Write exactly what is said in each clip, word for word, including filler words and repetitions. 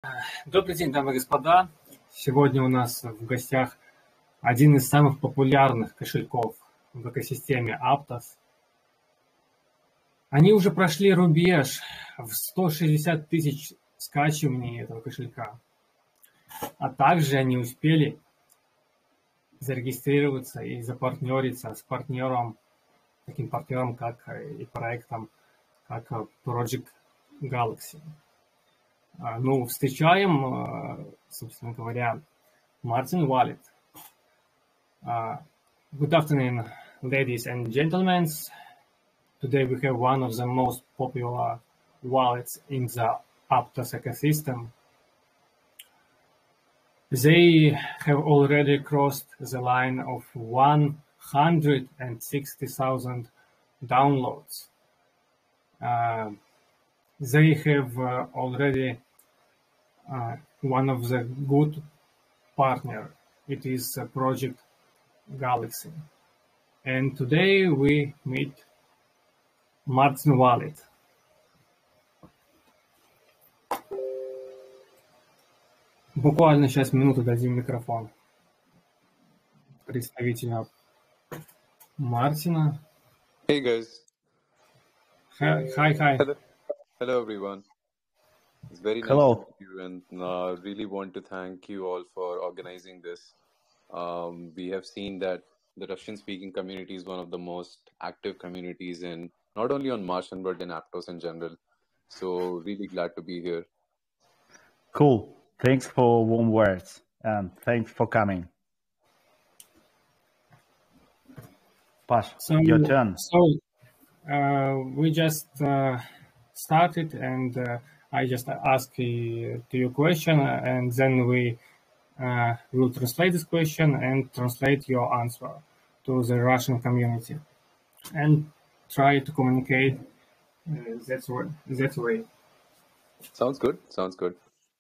Добрый день, дамы и господа. Сегодня у нас в гостях один из самых популярных кошельков в экосистеме Aptos. Они уже прошли рубеж в сто шестьдесят тысяч скачиваний этого кошелька. А также они успели зарегистрироваться и запартнериться с партнером, таким партнером, как и проектом, как Project Galaxy. Ну, встречаем, собственно говоря, Martin Wallet. Uh, good afternoon, ladies and gentlemen. Today we have one of the most popular wallets in the Aptos ecosystem. They have already crossed the line of one hundred sixty thousand downloads. Uh, they have uh, already uh, one of the good partner. It is uh, Project Galaxy. And today we meet Martin Wallet. Буквально сейчас минуту дадим микрофон представителю Мартина. Hey guys. Hi, hi. hi. Hello. Hello everyone. It's very Hello. nice to meet you, and uh, really want to thank you all for organizing this. Um, we have seen that the Russian-speaking community is one of the most active communities in not only on Martian but in Aptos in general. So really glad to be here. Cool. Thanks for warm words and thanks for coming. Pash, So, your turn. so uh, we just uh, started, and uh, I just ask you to your question, and then we uh, will translate this question and translate your answer to the Russian community, and try to communicate uh, that way. That way. Sounds good. Sounds good.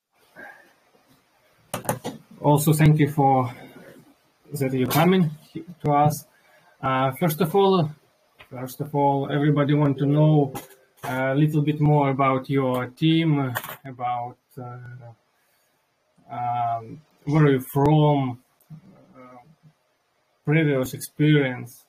Also, thank you for that you're coming to us. Uh, first of all, first of all, everybody want to know a little bit more about your team, about uh, um, where you're from, uh, previous experience,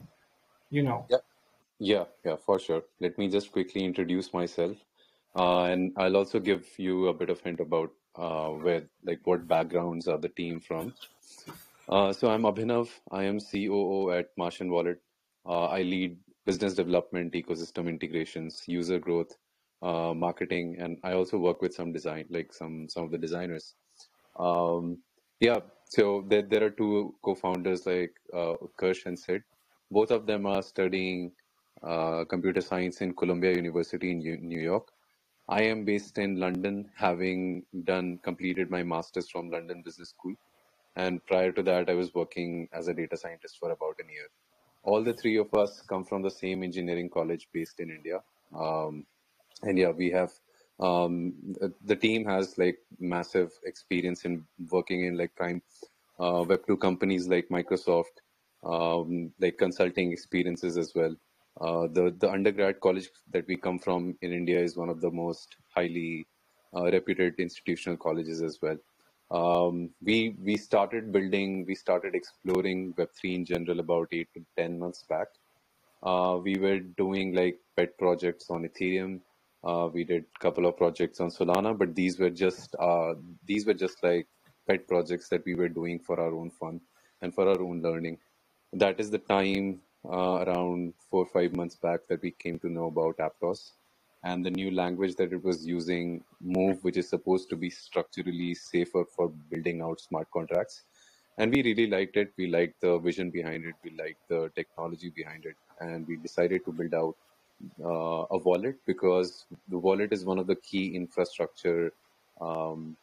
you know. Yeah. Yeah, yeah, for sure. Let me just quickly introduce myself. Uh, and I'll also give you a bit of hint about uh, where, like, what backgrounds are the team from. Uh, so I'm Abhinav. I am C O O at Martian Wallet. Uh, I lead business development, ecosystem integrations, user growth, uh, marketing, and I also work with some design, like some some of the designers. Um, yeah, so there there are two co-founders, like uh, Kirsch and Sid. Both of them are studying uh, computer science in Columbia University in U- New York. I am based in London, having done completed my master's from London Business School. And prior to that, I was working as a data scientist for about a year. All the three of us come from the same engineering college based in India. Um, and yeah, we have, um, the, the team has like massive experience in working in like prime uh, Web two companies like Microsoft, um, like consulting experiences as well. Uh, the, the undergrad college that we come from in India is one of the most highly uh, reputed institutional colleges as well. Um, we we started building, we started exploring Web three in general about eight to ten months back. Uh, we were doing like pet projects on Ethereum. Uh, we did a couple of projects on Solana, but these were just uh, these were just like pet projects that we were doing for our own fun and for our own learning. That is the time uh, around four or five months back that we came to know about Aptos and the new language that it was using, Move, which is supposed to be structurally safer for building out smart contracts. And we really liked it. We liked the vision behind it. We liked the technology behind it. And we decided to build out uh, a wallet because the wallet is one of the key infrastructure um,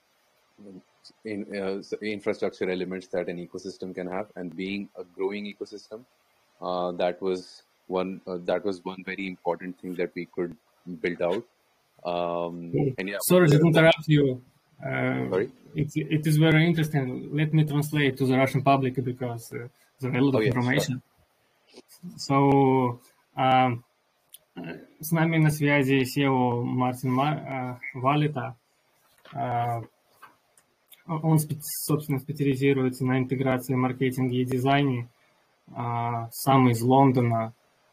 in, uh, infrastructure elements that an ecosystem can have. And being a growing ecosystem, uh, that was one uh, that was one very important thing that we could build out. Um, and yeah, Sorry to there- interrupt you. Uh, Sorry? it, it is very interesting. Let me translate to the Russian public because uh, there are a lot Oh, of yeah, information. So, um, с нами на связи си и о Мартин Валета. Он, собственно, специализируется на интеграции, маркетинге и дизайне. Сам из Лондона.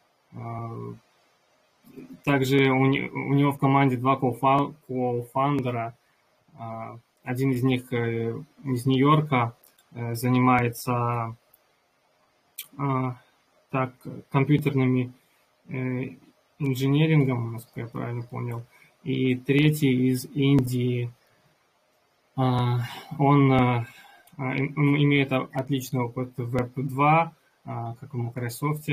Также у него в команде два кофаундера. Один из них из Нью-Йорка занимается так, компьютерными инженерингом, насколько я правильно понял. И третий из Индии. Он, он имеет отличный опыт в веб два, как в Microsoft.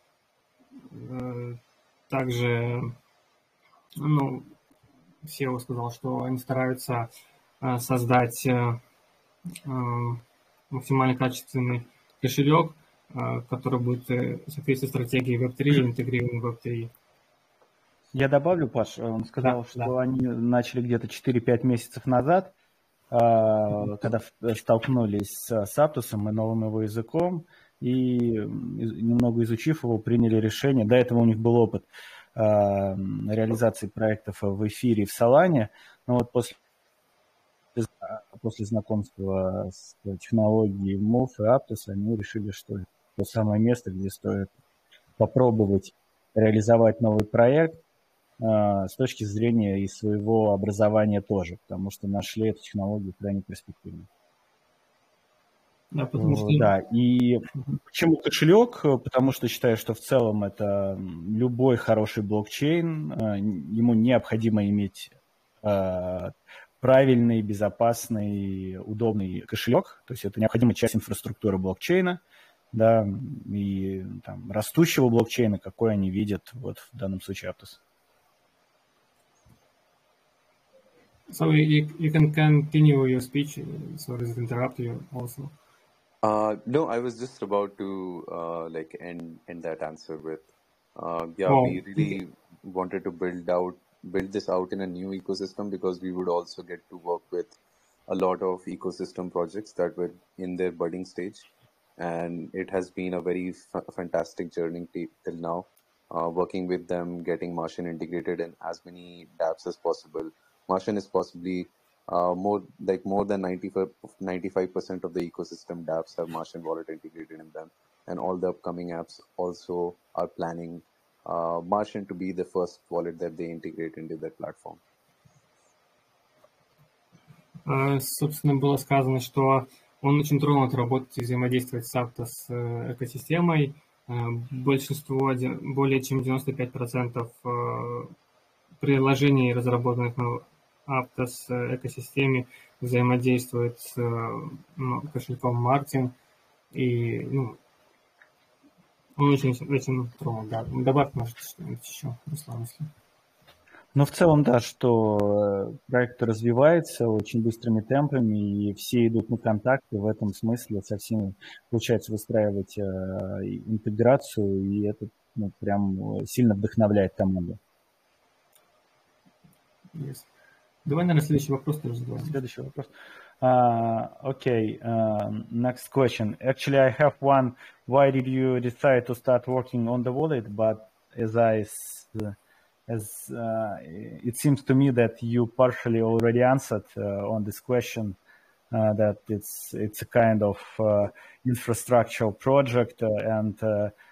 Также, ну, сео сказал, что они стараются создать максимально качественный кошелек, который будет соответствовать стратегии веб три, интегрированный веб три. Я добавлю, Паш, он сказал, да, что да. они начали где-то четыре-пять месяцев назад, когда столкнулись с Aptos и новым его языком, и немного изучив его, приняли решение. До этого у них был опыт реализации проектов в эфире в Solana, но вот после, после знакомства с технологией Move и Aptos они решили, что это то самое место, где стоит попробовать реализовать новый проект с точки зрения и своего образования тоже, потому что нашли эту технологию крайне перспективной. Да, потому что... да, и почему кошелек? Потому что считаю, что в целом это любой хороший блокчейн, ему необходимо иметь правильный, безопасный, удобный кошелек, то есть это необходимая часть инфраструктуры блокчейна, да, и там, растущего блокчейна, какой они видят вот в данном случае Aptos. So you, you can continue your speech, sorry to interrupt you also. Uh, no, I was just about to uh, like end end that answer with, uh, yeah, Oh. we really wanted to build out build this out in a new ecosystem because we would also get to work with a lot of ecosystem projects that were in their budding stage, and it has been a very f- fantastic journey t- till now, uh, working with them, getting Martian integrated in as many dApps as possible. Martian is possibly Uh, more like more than ninety-five percent of the ecosystem dApps have Martian wallet integrated in them, and all the upcoming apps also are planning uh, Martian to be the first wallet that they integrate into their platform. Uh, собственно, было сказано, что он очень тронут работать и взаимодействовать с Aptos экосистемой. Uh, большинство, более чем девяносто пять процентов uh, приложений, разработанных на Aptos экосистеме, взаимодействует с ну, кошельком Martin, и ну, он очень, очень тронут. Да. Добавь, может, что-нибудь еще, Руслан, если... Ну, в целом, да, что проект развивается очень быстрыми темпами, и все идут на контакты в этом смысле, со всеми получается выстраивать интеграцию, и это ну, прям сильно вдохновляет команду. Yes. Давай, наверное, следующий вопрос тоже задавай. Следующий вопрос. Uh, okay, uh, next question. Actually, I have one. Why did you decide to start working on the wallet? But as I, as uh, it seems to me that you partially already answered uh, on this question. Uh, that it's it's a kind of uh, infrastructural project, uh, and uh,